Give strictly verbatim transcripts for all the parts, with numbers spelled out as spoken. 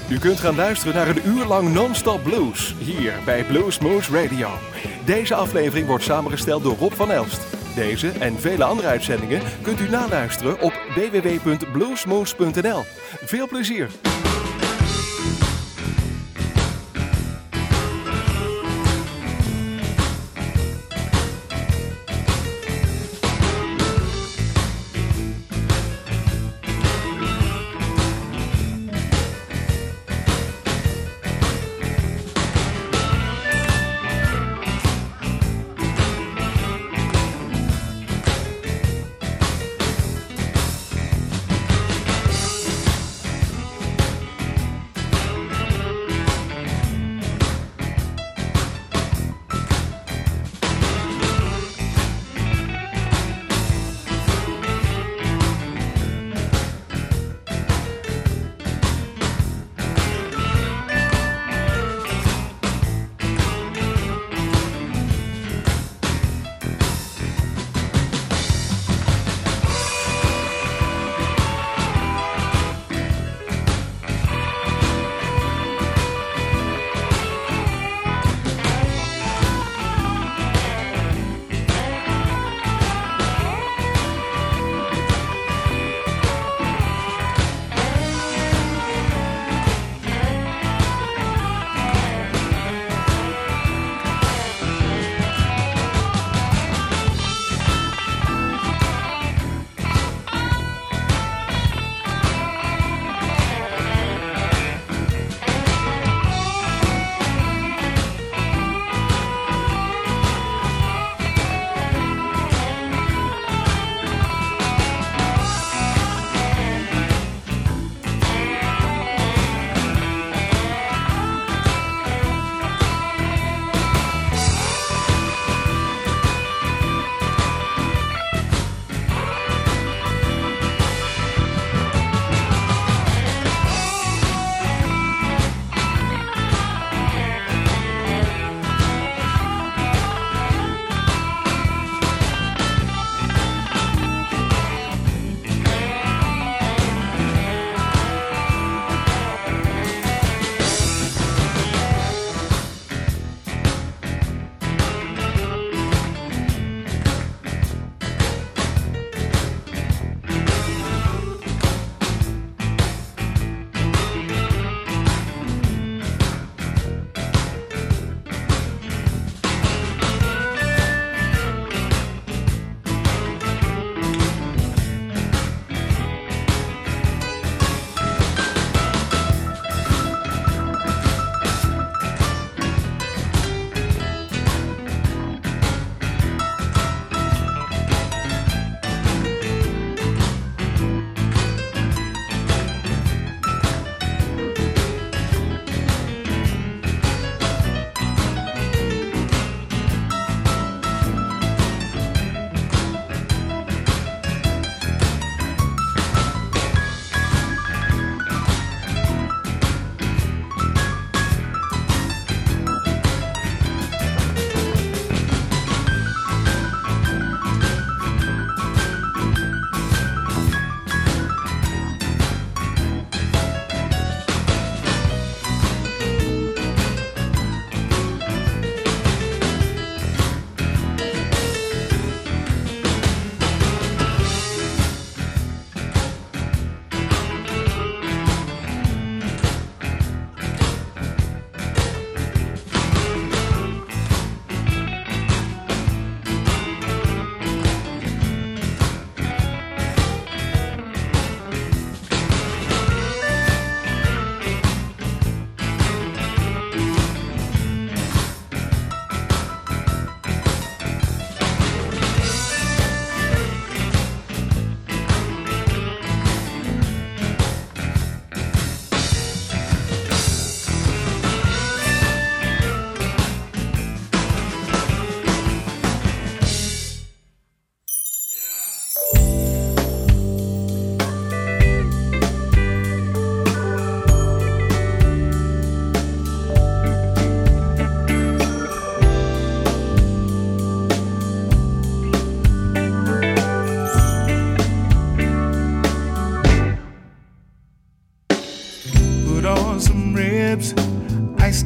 U kunt gaan luisteren naar een uur lang non-stop blues, hier bij Bluesmoose Radio. Deze aflevering wordt samengesteld door Rob van Elst. Deze en vele andere uitzendingen kunt u naluisteren op w w w punt bluesmoose punt n l. Veel plezier!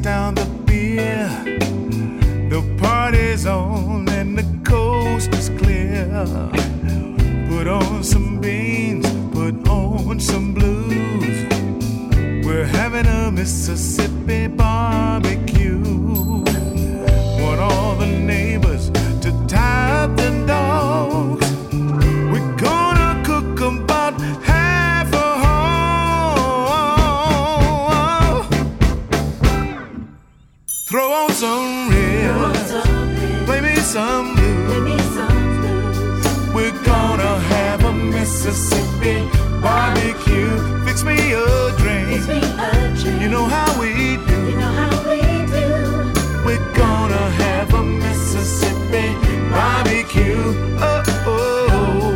down the beer. The party's on and the coast is clear. Put on some beans, put on some blues. We're having a Mississippi barbecue. Want all the neighbors to tie up the dogs. We're gonna cook about half a hog. Throw on some ribs, play me some blues. We're gonna have a Mississippi barbecue. Fix me a drink. You know how we do. We're gonna have a Mississippi barbecue. Oh, oh, oh.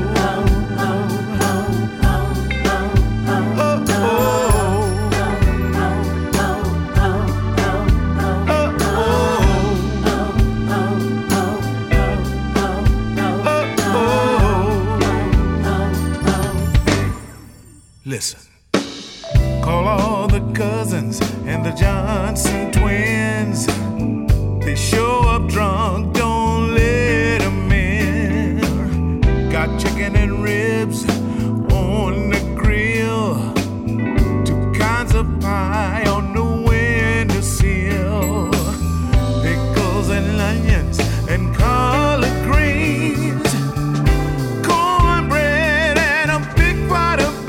Listen, call all the cousins and the Johnson twins. They show up drunk, don't let them in. Got chicken and ribs on the grill. Two kinds of pie on the windowsill. Pickles and onions and collard greens. Cornbread and a big pot of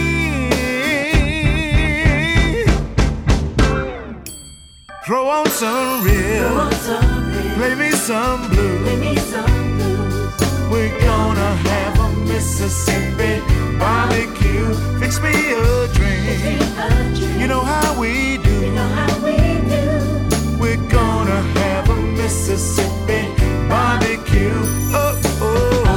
throw on some ribs, play me some blues. We're gonna have a Mississippi barbecue. Fix me a drink. You know how we do. We're gonna have a Mississippi barbecue. Oh, oh, oh.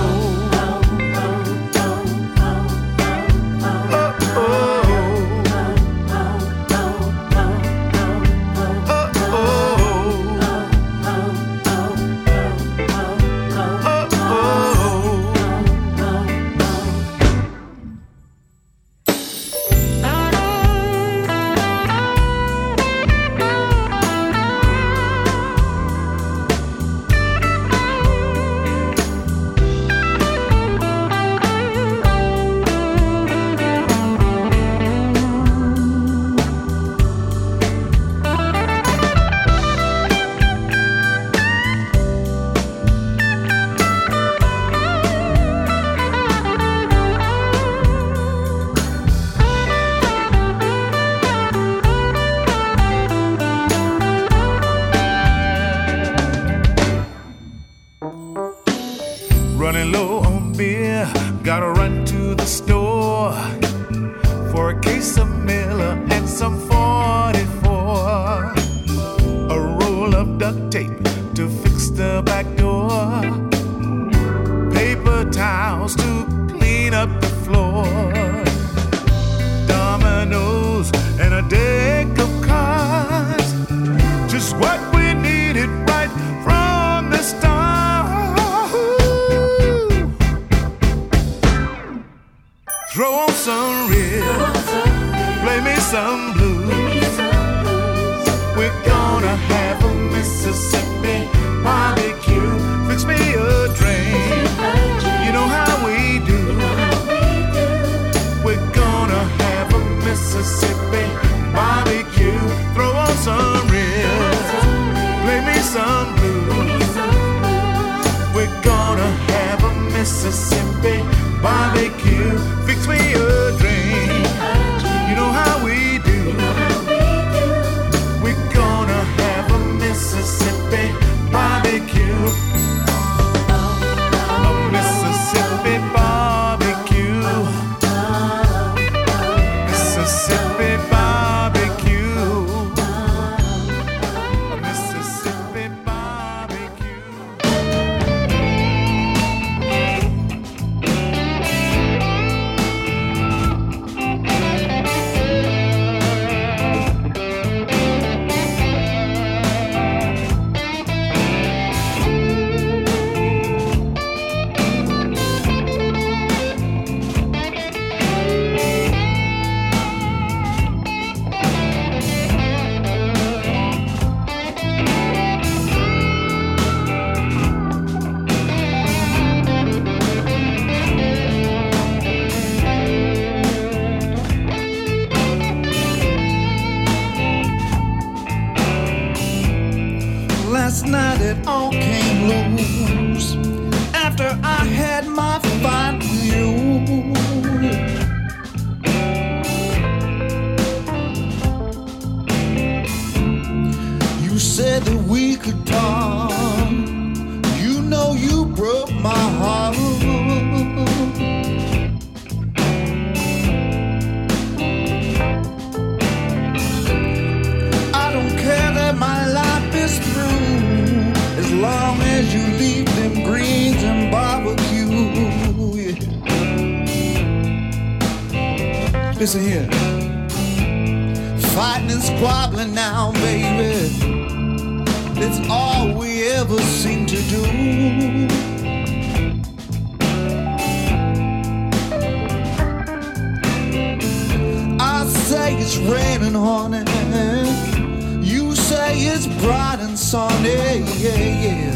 Running low on beer, gotta run to the store for a case of Miller and some forty-four. A roll of duct tape to fix the back door. Paper towels to clean up the floor. Dominoes and a deck of cards. Just what we needed right from the start. Throw on some ribs, play me some blues. We're gonna have a Mississippi barbecue. Fix me a drink. You know how we do. We're gonna have a Mississippi barbecue. Throw on some ribs, play me some blues. We're gonna have a Mississippi barbecue. Fix me a drink. You know how we do. We're gonna have a Mississippi barbecue. A Mississippi barbecue. Mississippi barbecue. A Mississippi barbecue. Listen here. Fighting and squabbling now, baby. It's all we ever seem to do. I say it's raining, honey. You say it's bright and sunny, yeah, yeah.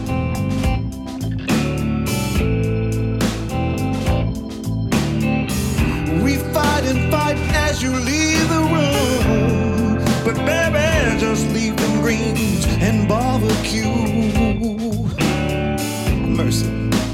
We fight and fight as you leave the room, but baby, just leave them greens and barbecue. Mercy.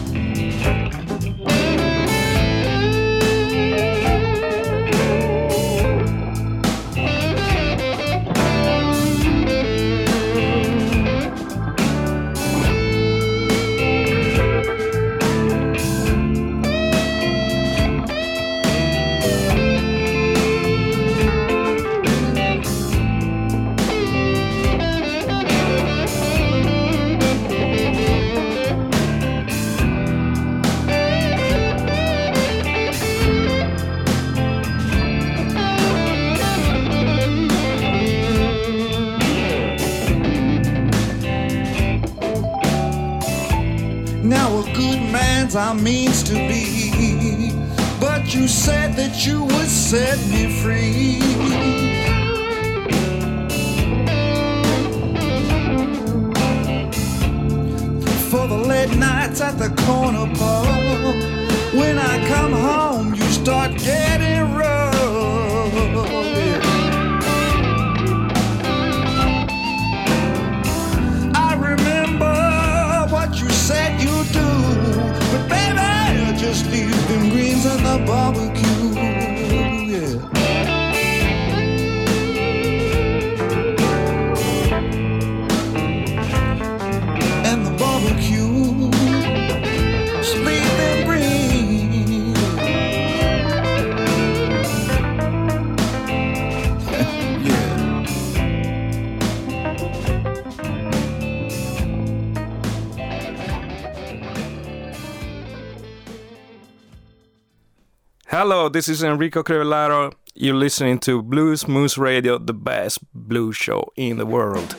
I means to be, but you said that you would set me free. For the late nights at the corner pub, when I come home you start getting rough. I remember what you said you'd do, but baby, just leave them greens and the barbecue, yeah. And the barbecue, just leave them greens. Yeah. Hello, this is Enrico Crevellaro. You're listening to Blues Moose Radio, the best blues show in the world.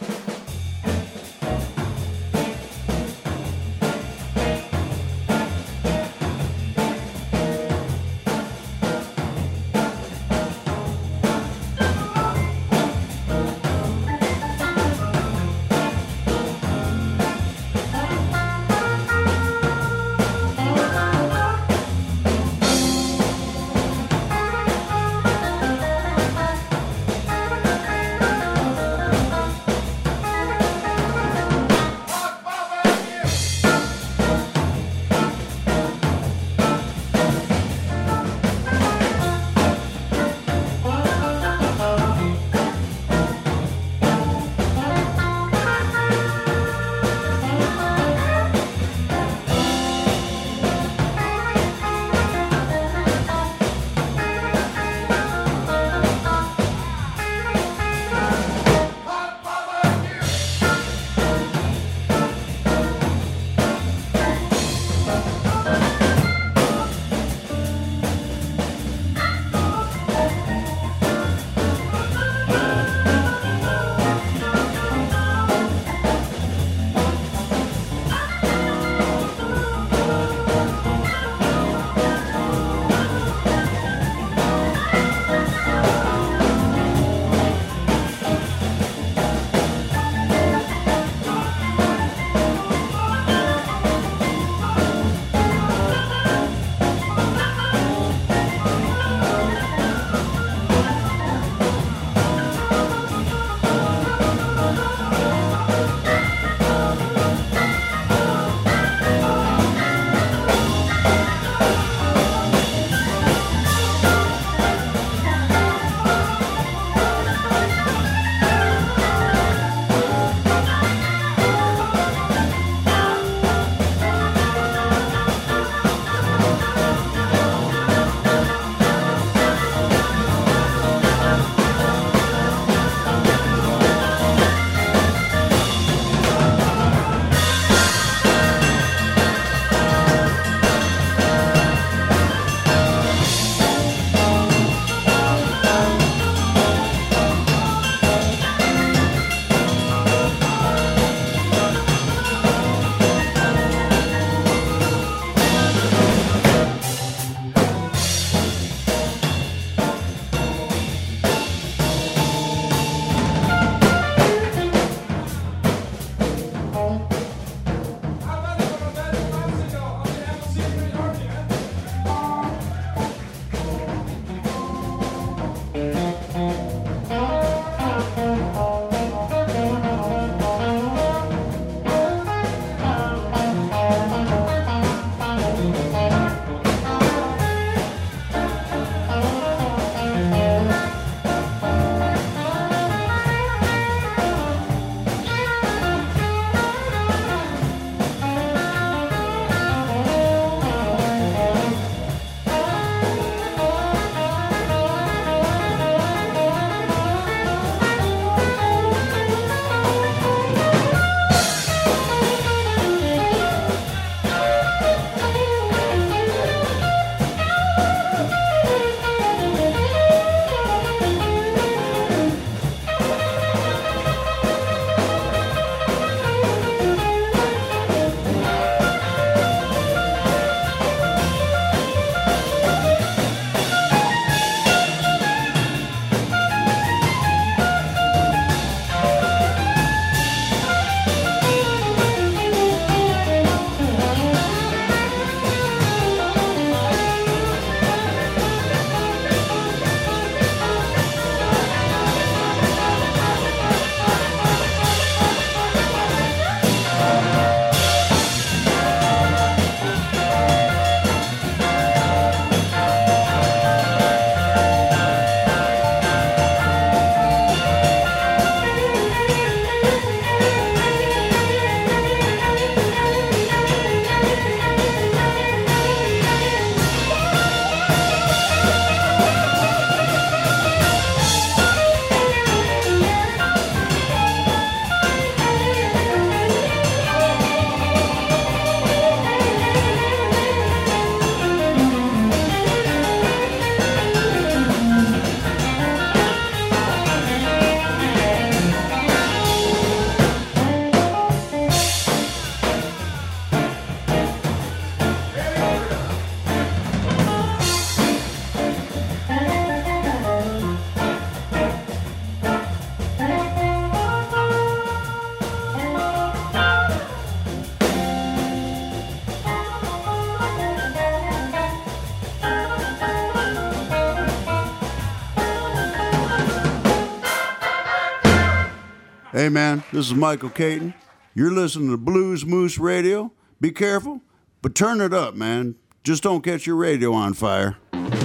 Hey, man, this is Michael Caton. You're listening to Blues Moose Radio. Be careful, but turn it up, man. Just don't catch your radio on fire.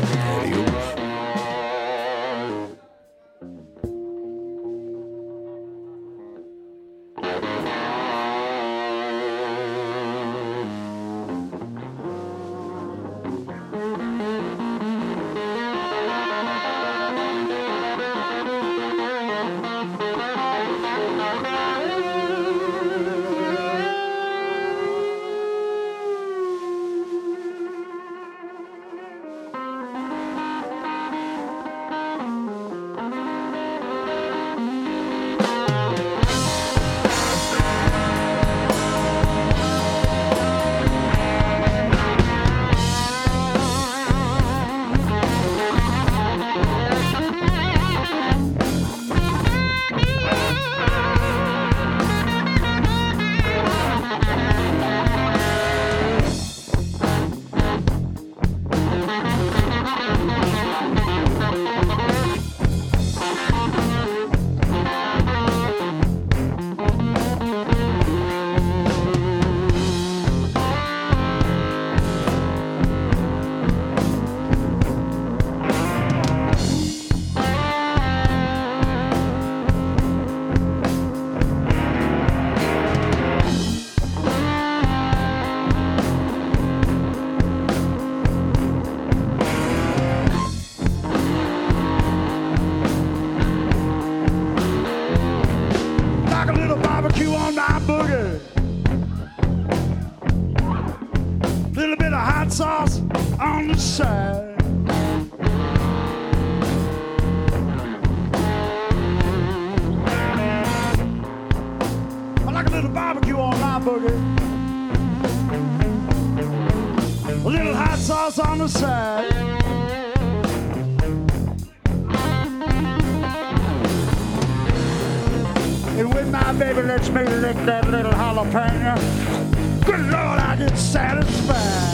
Sauce on the side. I like a little barbecue on my boogie. A little hot sauce on the side. And with my baby lets me lick that little jalapeno, good Lord, I get satisfied.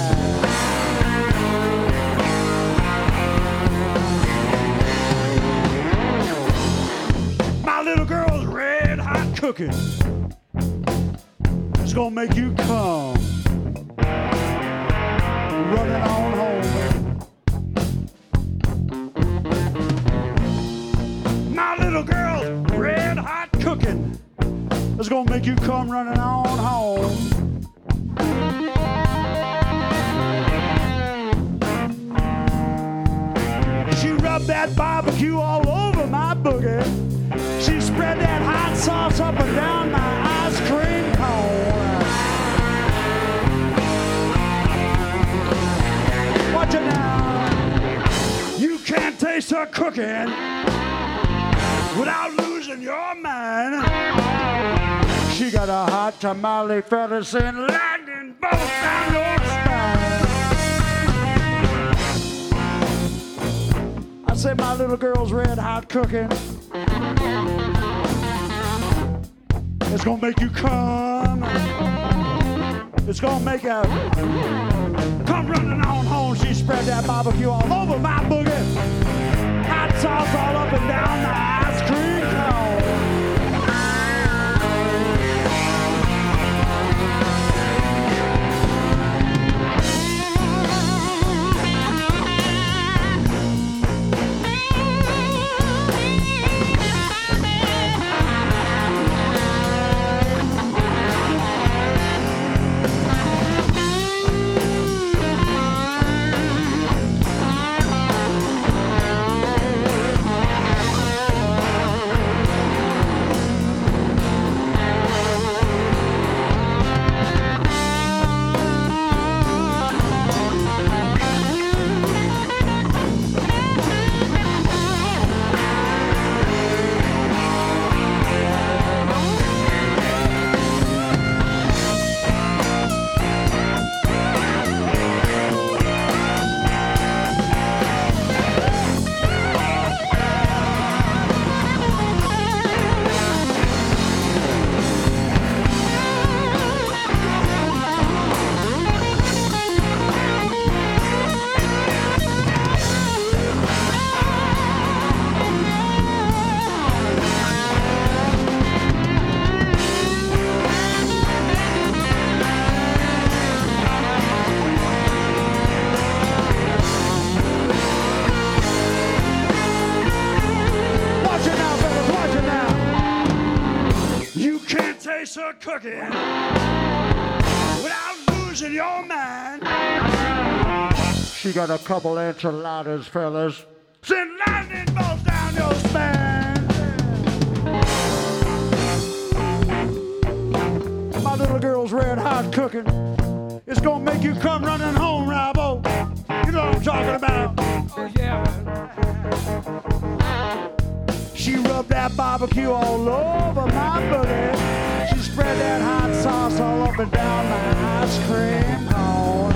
Little girl's red hot cooking. It's gonna make you come running on home. My little girl's red hot cooking. It's gonna make you come running on home. She rubbed that barbecue all over my boogie. She spread that hot sauce up and down my ice cream cone. Watch it now. You can't taste her cooking without losing your mind. She got a hot tamale feathers and lightning bolt down your spine. I say my little girl's red hot cooking. It's gonna make you come. It's gonna make a come running on home. She spread that barbecue all over my boogie. Hot sauce all up and down the ice cream cone. cooking without losing your mind. She got a couple enchiladas, fellas. Send lightning bolts down your spine. My little girl's red hot cooking. It's gonna make you come running home, Robo. You know what I'm talking about. Oh yeah, man. She rubbed that barbecue all over my booty. She spread that hot sauce all up and down my ice cream cone.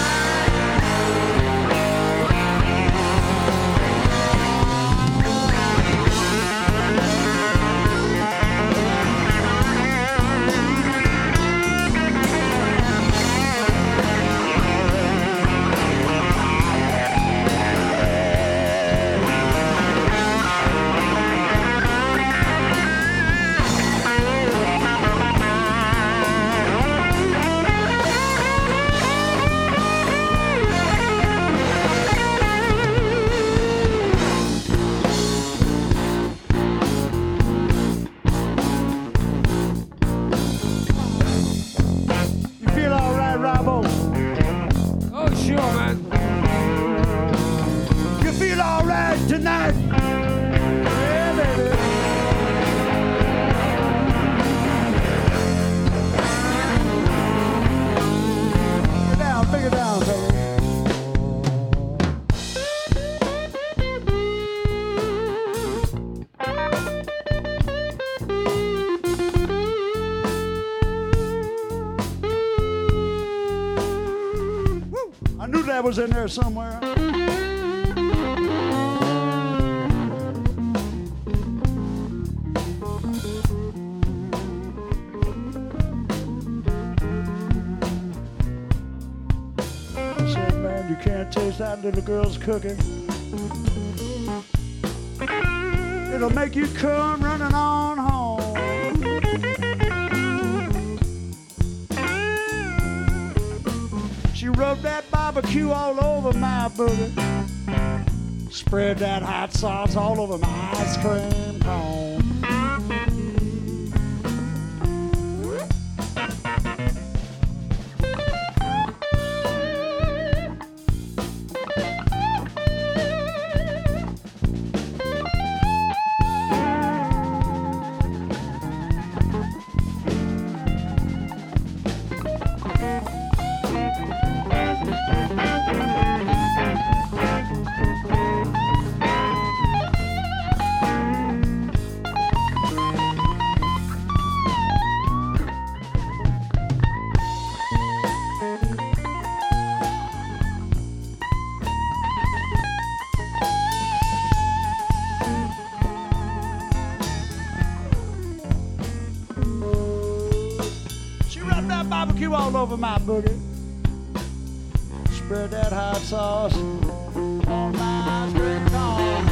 Tonight, yeah, baby. Bring it down, bring it down, baby. Woo. I knew that was in there somewhere. Taste that little girl's cooking. It'll make you come running on home. She rubbed that barbecue all over my booty. Spread that hot sauce all over my ice cream cone. All over my boogie. Spread that hot sauce on my ice cream cone.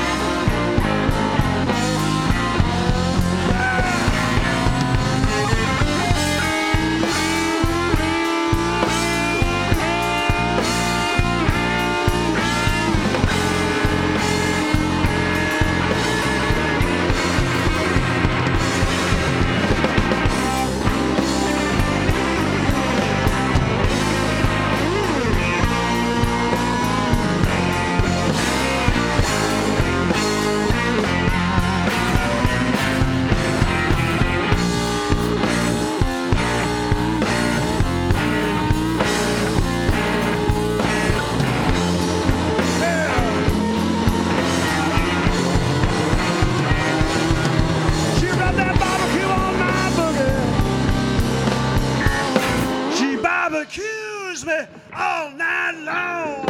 Accuse me all night long.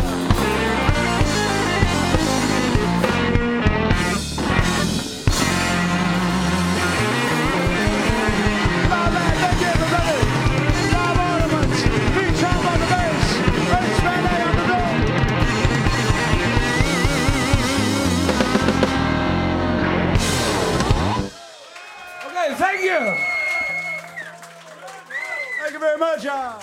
All right, thank you, everybody. Live ornaments, beat drum on the bass, bass band on the drum. Okay, thank you. Thank you very much, y'all.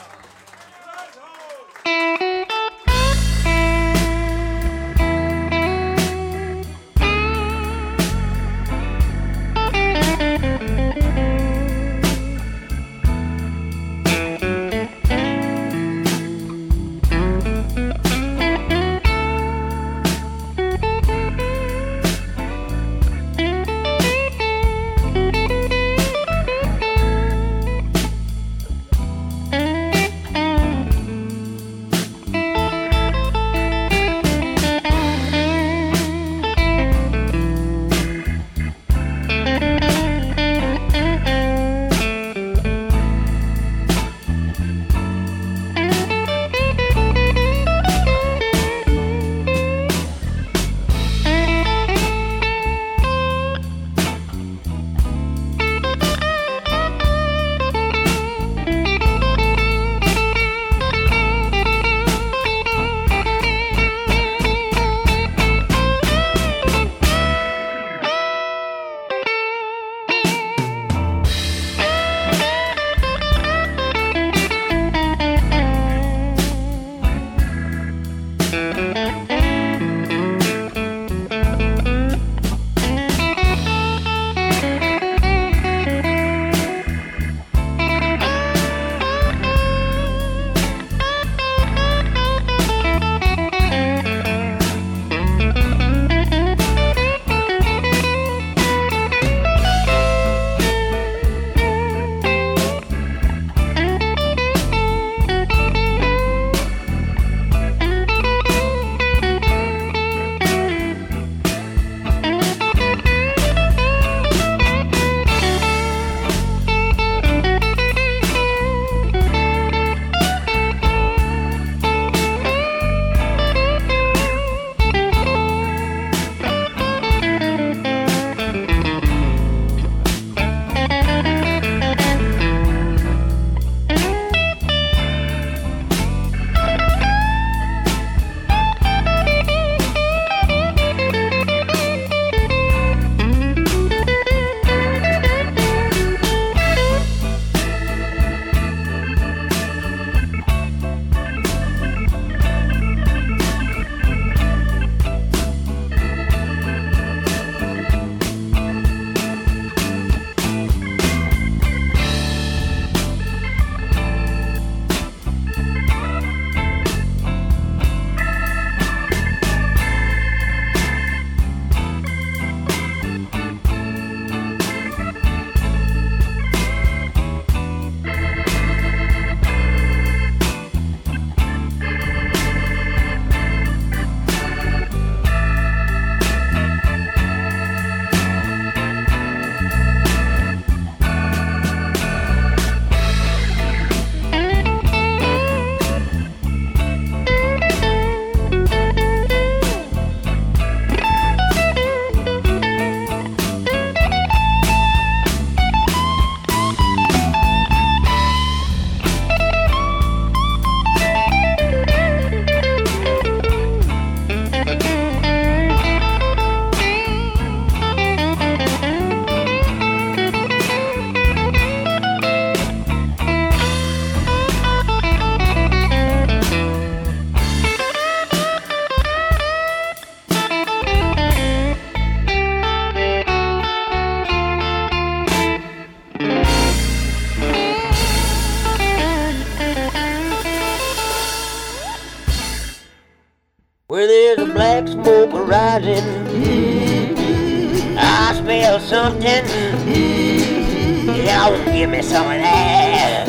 there's a black smoke rising. Mm-hmm. I smell something. Mm-hmm. Y'all give me some of that.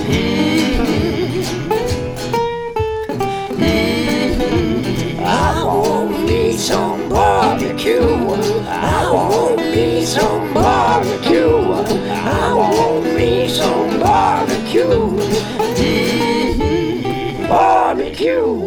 Mm-hmm. I want me some barbecue. I want me some barbecue. I want me some barbecue. Mm-hmm. Barbecue.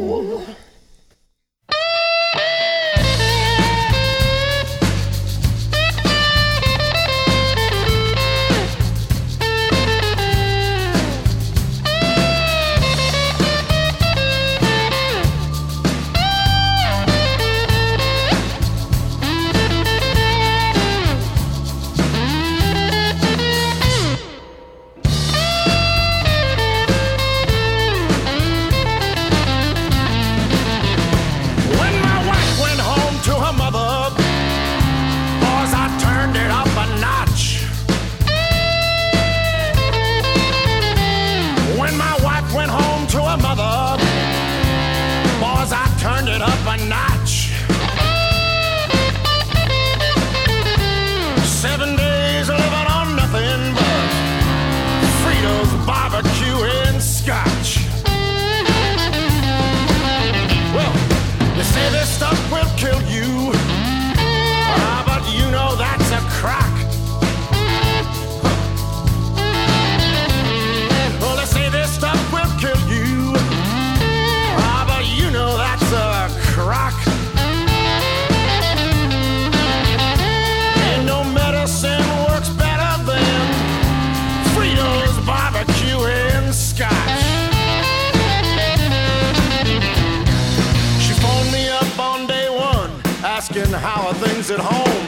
How are things at home?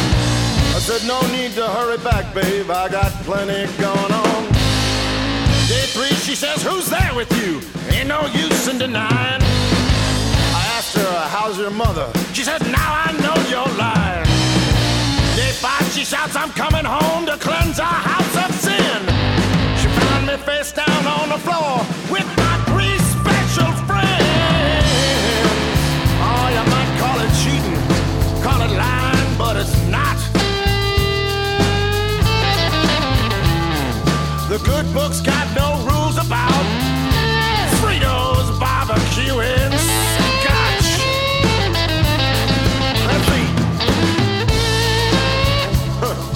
I said, no need to hurry back, babe. I got plenty going on. Day three, she says, who's there with you? Ain't no use in denying. I asked her, how's your mother? She said, now I know you're lying. Day five, she shouts, I'm coming home to cleanse our house of sin. She found me face down on the floor with my three special friends. Oh, you might call it cheating. Call it lying, but it's not. The good book's got no rules about Fritos, barbecue, and scotch. Let's see. Huh.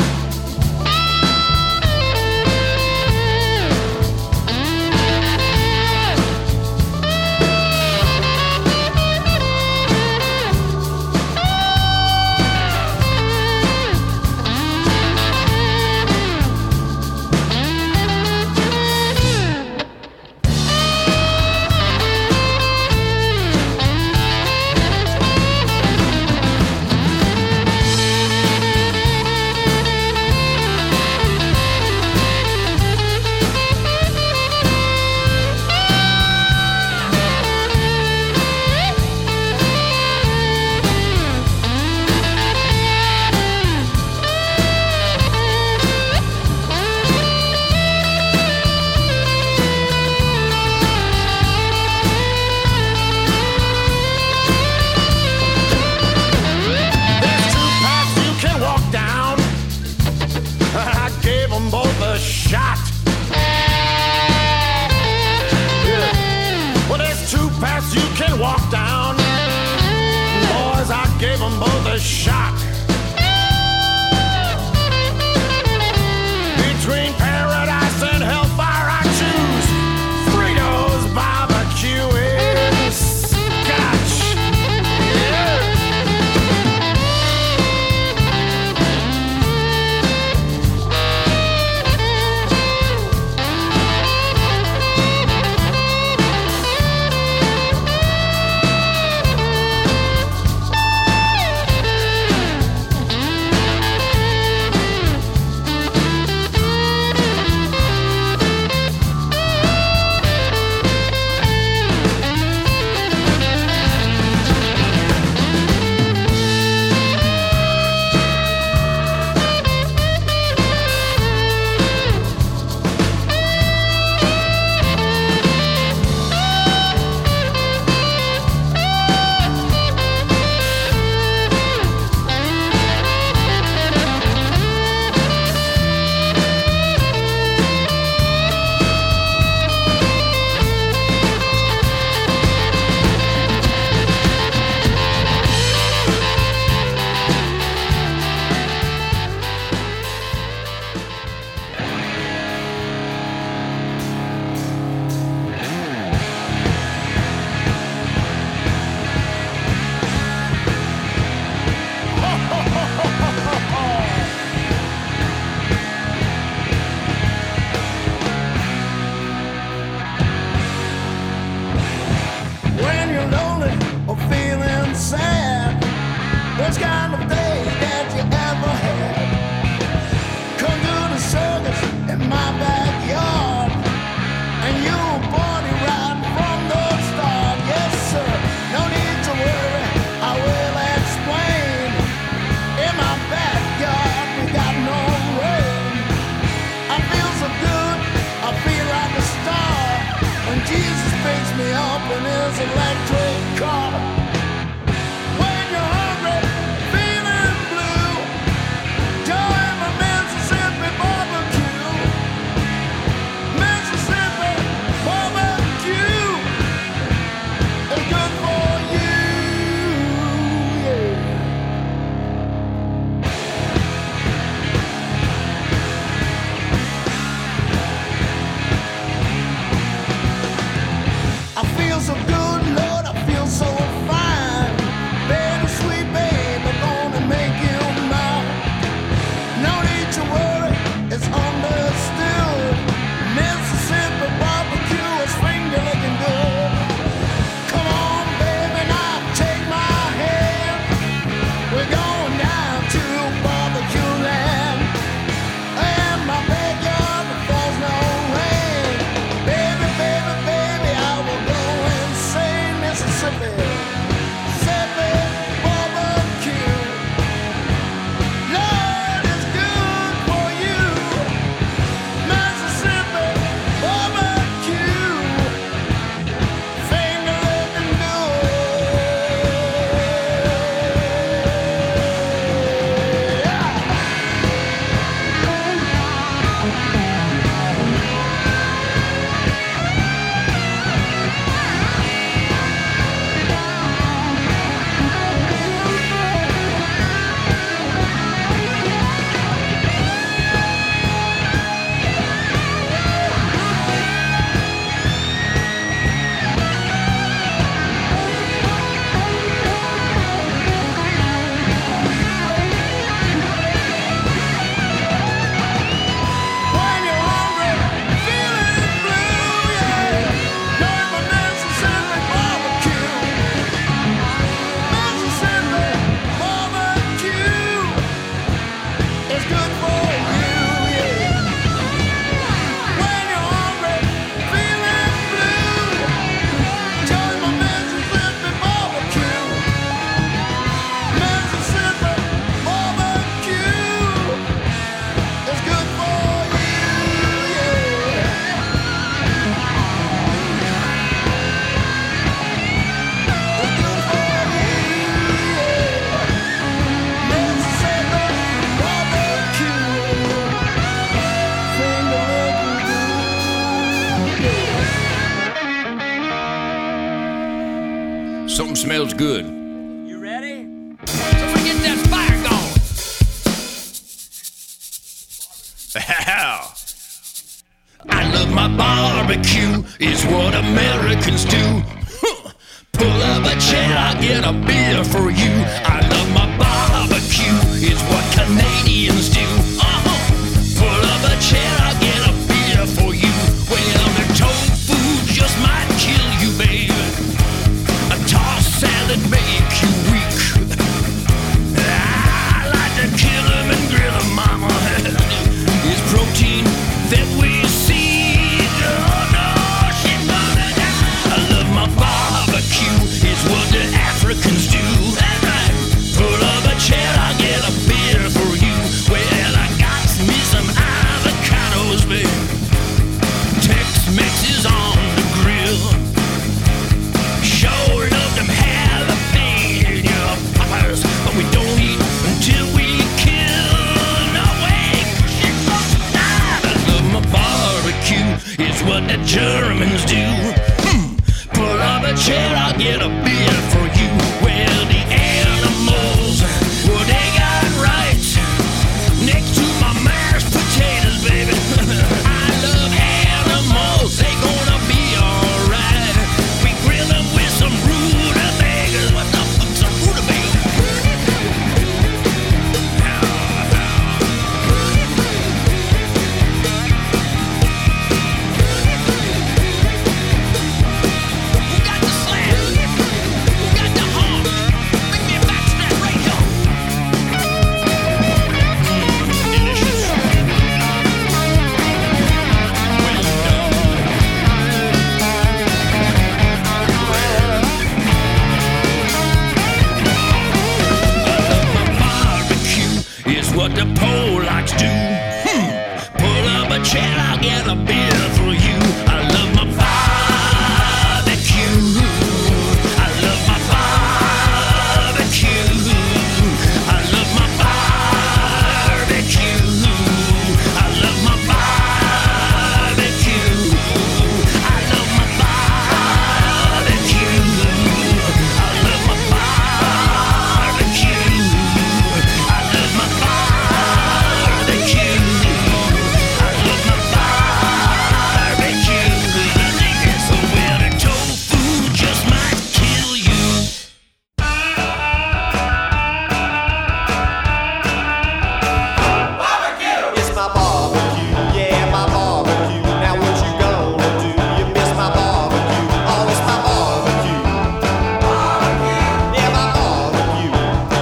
Worst kind of day that you ever had. Come to the circus in my backyard, and you'll party right from the start. Yes, sir, no need to worry, I will explain. In my backyard, we got no rain. I feel so good, I feel like a star, when Jesus picks me up in his electric car. When you're hungry, feeling blue, join my Mississippi barbecue. Mississippi barbecue is good for you, yeah. I feel so good, Lord, I feel so fine. Baby, sweet babe, I'm gonna make you mine. No need to worry, it's understood. Mississippi barbecue is finger looking good. Come on, baby, now take my hand. We're going down to barbecue land. In my backyard, there falls no rain. Baby, baby, baby, I will go insane. Mississippi, Mississippi barbecue. Lord, it's good for you. Mississippi barbecue, finger looking good. Yeah. When you're hungry, feeling blue, yeah. Join my Mississippi barbecue. Mississippi barbecue is good for you, yeah. When you're hungry, feeling blue, join my Mississippi barbecue. Mississippi barbecue is good for you, yeah. It's good for you, yeah. Mississippi barbecue, finger looking good. Something smells good. You ready? Someone get that fire going. I love my barbecue, is what Americans do. Huh. Pull up a chair, I'll get a beer for you. I love my barbecue, is what Canadians do. Uh-huh. Pull up a chair, I'll get a beer for you. Well, the tofu just might kill you, babe. A tossed salad make you weak. I like to kill 'em and grill 'em, mama. It's protein that we see. Oh no, she's gonna die. I love my barbecue, it's what the Africans do. what the Polacks do. Hmm. Pull up a chair, I'll get a beer for you. I love my barbecue. I love my barbecue. I love my barbecue. I love my barbecue. I love my barbecue. I love my barbecue. I love my barbecue. I love my barbecue. So where the tofu just might kill you. It's my barbecue, yeah, my barbecue. Now what you gonna do? You miss my barbecue. Oh, it's my barbecue. Yeah, my barbecue.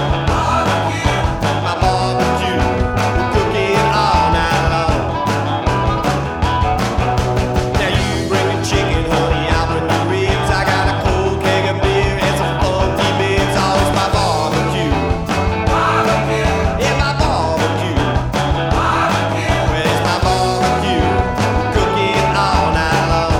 My barbecue. We cook it all night long. Now you bring the chicken, honey, I'll bring the ribs. I got a cold keg of beer and some funky bits. Oh, it's my barbecue. Yeah, my barbecue. Where's my barbecue? Cook it all night long.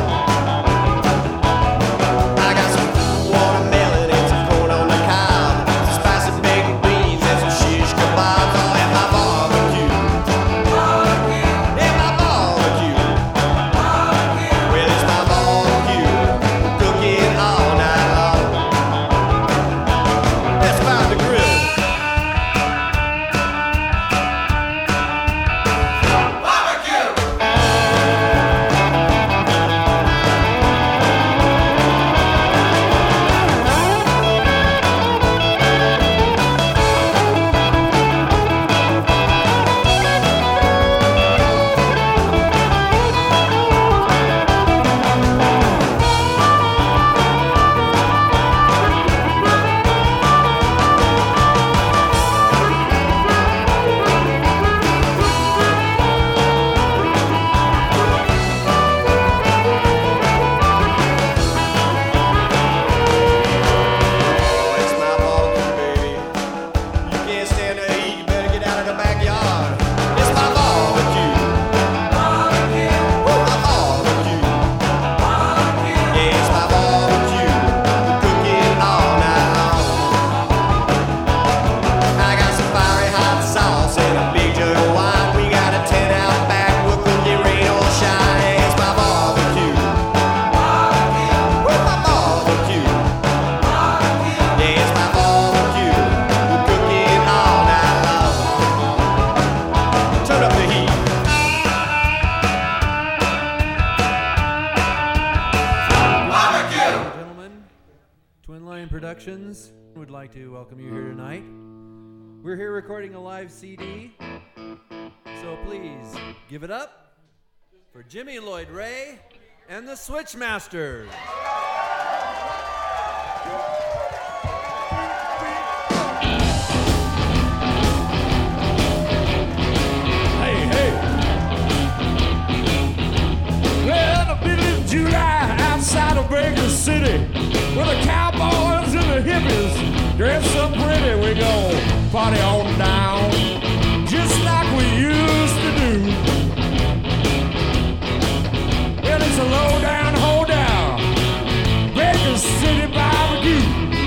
I got some watermelon and some corn on the cob, some spicy baked beans and some shish kebabs. All at my barbecue. Yeah, my barbecue. Well, it's my barbecue. Cook it all night long. That's about the grill. It's my barbecue, baby. You can't stand to eat, you better get out of the backyard. It's my barbecue. Barbecue. Oh, my barbecue. Barbecue. Yeah, it's my barbecue. We cook it all night long. I got some fiery hot sauce and a big jug of wine. We got a tent out back, we'll cook it rain or shine. Yeah, it's my barbecue. Barbecue. Oh, my barbecue. Yeah, it's my barbecue. We cook it all night long. Turn up the heat. Gentlemen, Twin Lion Productions would like to welcome you here tonight. We're here recording a live C D, so please give it up for Jimmy Lloyd Ray and the Switchmasters. Hey, hey. Well, the middle of July outside of Baker City, where the cowboys and the hippies dress up pretty, we go party on down, just like we used to do. Well, it's a low down, hold down, Baker City barbecue.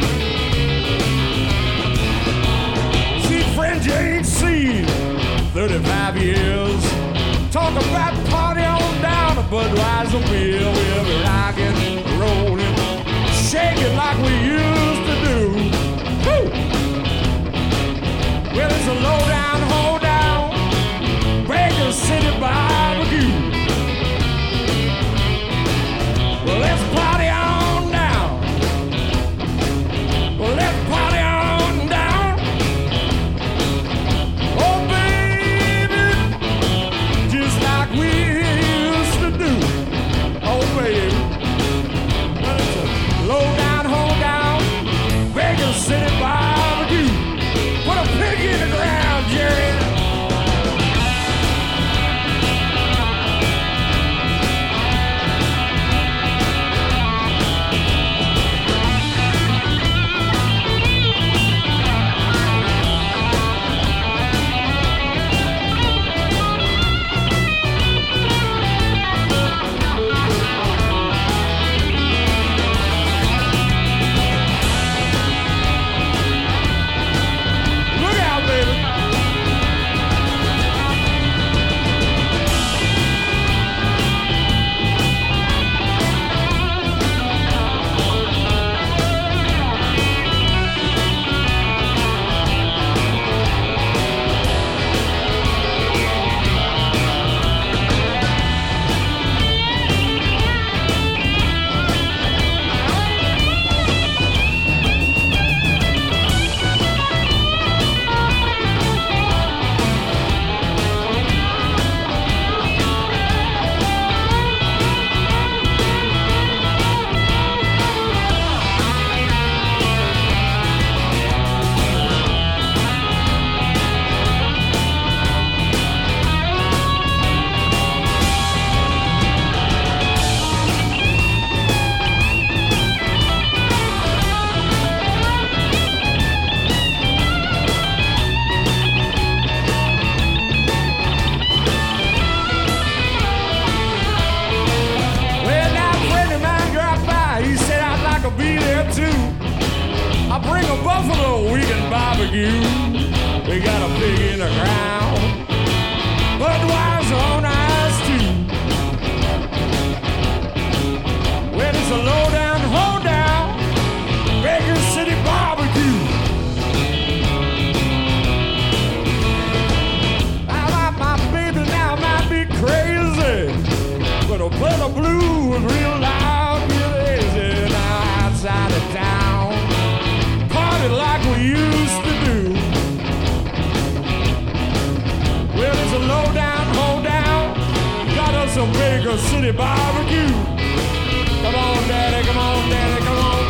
See, friends you ain't seen thirty-five years. Talk about party on down to Budweiser beer. We'll be rocking, rolling, shaking like we used to do. Woo! Well, it's a low down, hold down, Baker City barbecue. Well, let's party on down. Well, let's party on down. Oh, baby, just like we used to do. Oh, baby. Well, it's a low down, hold down, Baker City barbecue. Put a pig in the ground, Jerry. barbecue. We got a pig in the ground. Budweiser on ice too. When it's a low down, hold down, Baker City barbecue. Now my, my baby now might be crazy, but I'll play the blues real loud, real easy. Now outside of town, party like we used to do. Well, it's a low down, hold down, got us some Baker City barbecue. Come on, daddy, come on, daddy, come on.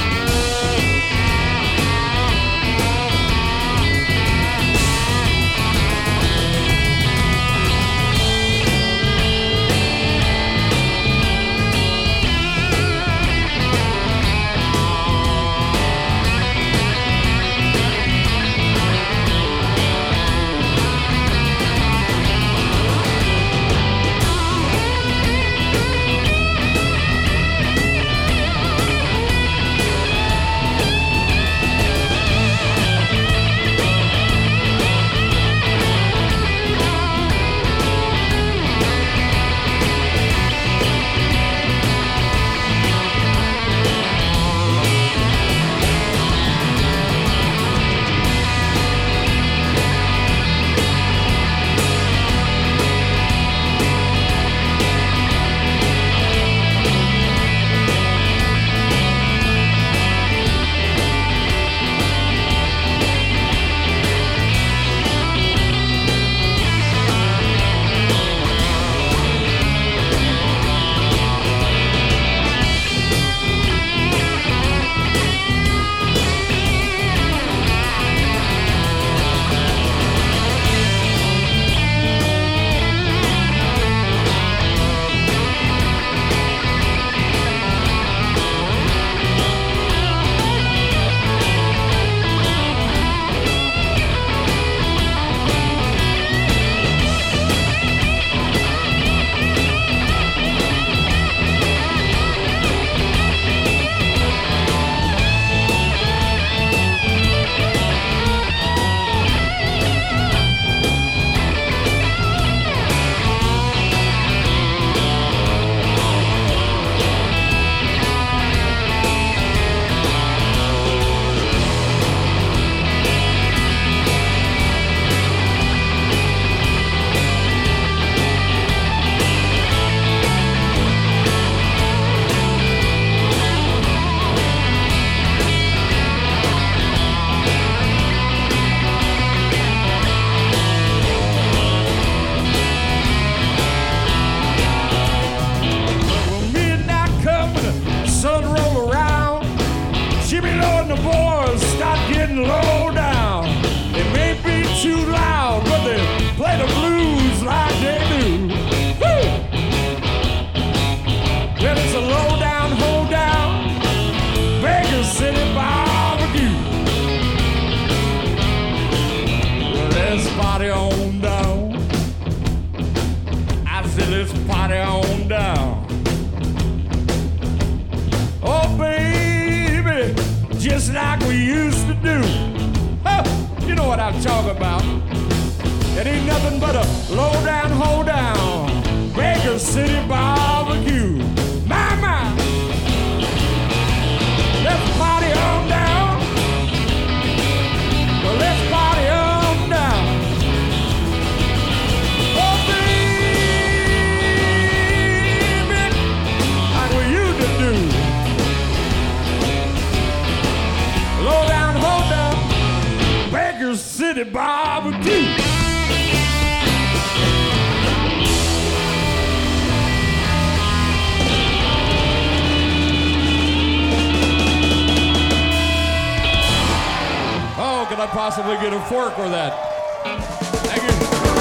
Possibly get a fork or that. Thank you.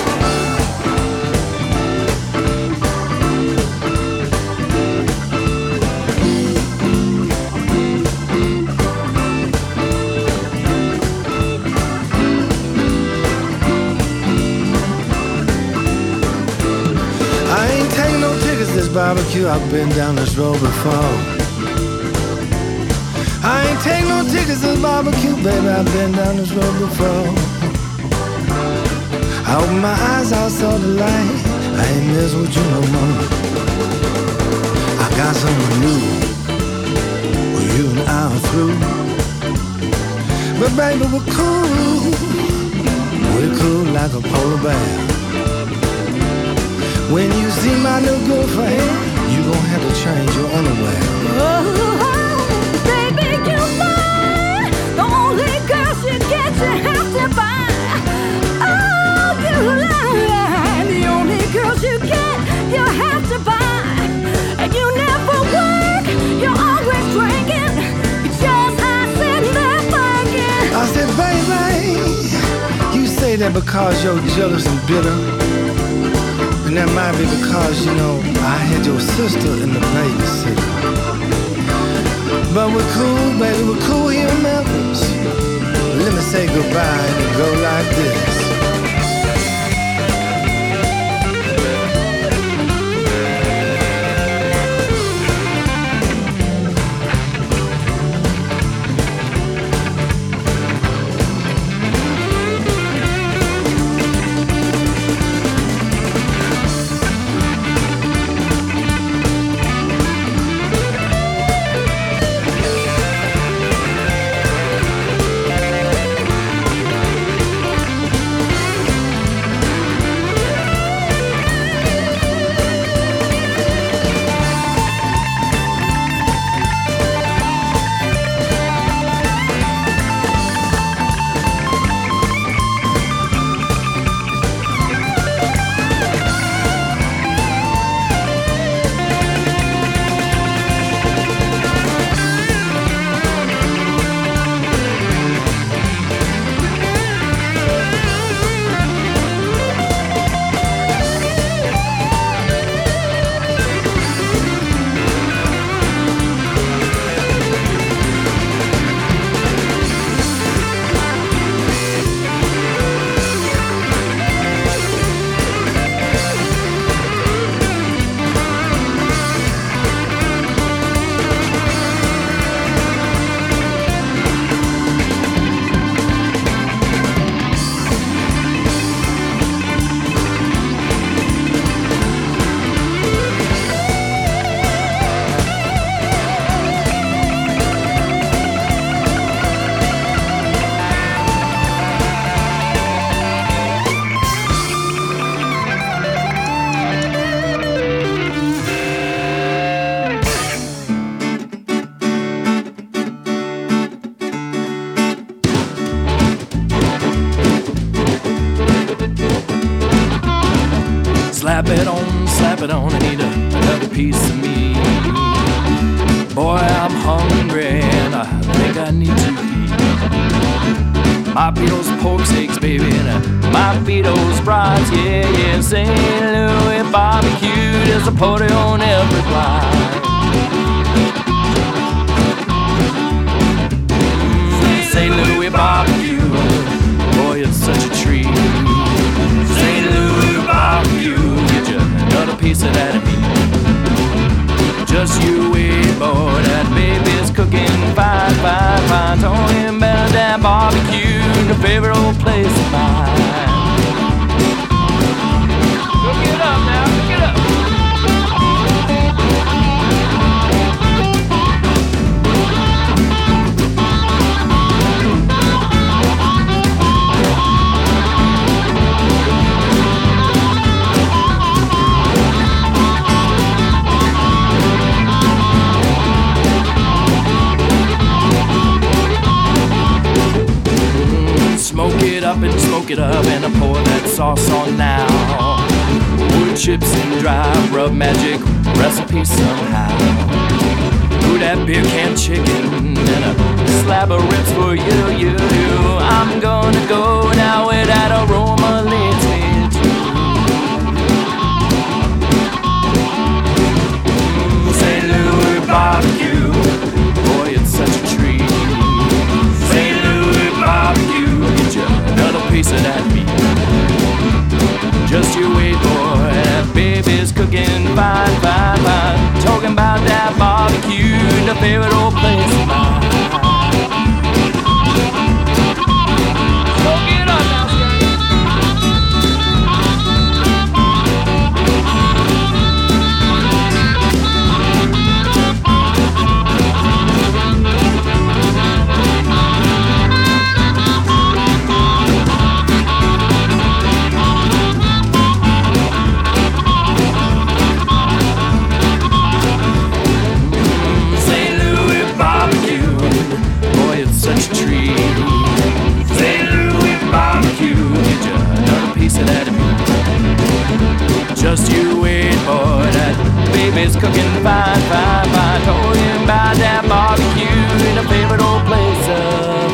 I ain't taking no tickets this barbecue. I've been down this road before. I ain't take no tickets to barbecue, baby, I've been down this road before. I opened my eyes, I saw the light. I ain't mess with you no more. I got something new. Well, you and I are through. But baby, we're cool. We're cool like a polar bear. When you see my new girlfriend, you gon' have to change your underwear. Oh, baby, you lie. The only girl she gets, you have to buy. Oh, you lie. The only girls you get, you have to buy. And you never work, you're always drinking. It's just I sitting there thinking. I said, baby, you say that because you're jealous and bitter. And that might be because, you know, I had your sister in the babysitter. But we're cool, baby, we're cool here in Memphis. Let me say goodbye and go like this. Slap it on, slap it on, I need a, another piece of me. Boy, I'm hungry and I think I need to eat. Might be those pork steaks, baby, and uh, might be those brats, yeah, yeah. Saint Louis barbecue, there's a party on every block. Mm, Saint Louis barbecue, boy, it's such a treat. Saint Louis barbecue, get you another piece of that meat. Just you wait, boy, that baby's cooking fine, fine, fine. Talking about that barbecue, the favorite old place of mine. Cook it up now, cook it up. Smoke it up and smoke it up and I pour that sauce on now. Wood chips and dry rub magic recipe somehow. Ooh, that beer can chicken and a slab of ribs for you, you, you. I'm gonna go now where that aroma leads me to. Mm, Saint Louis barbecue, boy, it's such a treat. Saint Louis barbecue, another piece of that meat. Just you wait, boy, that baby's cooking fine, fine, fine. Talking about that barbecue, the favorite old place of mine. fine, fine, fine. Told you about that barbecue in a favorite old place of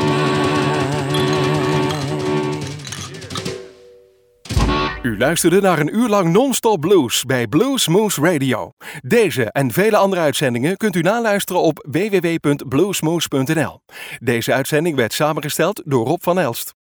mine. U luisterde naar een uur lang non-stop blues bij Blues Moose Radio. Deze en vele andere uitzendingen kunt u naluisteren op w w w punt bluesmoose punt n l. Deze uitzending werd samengesteld door Rob van Elst.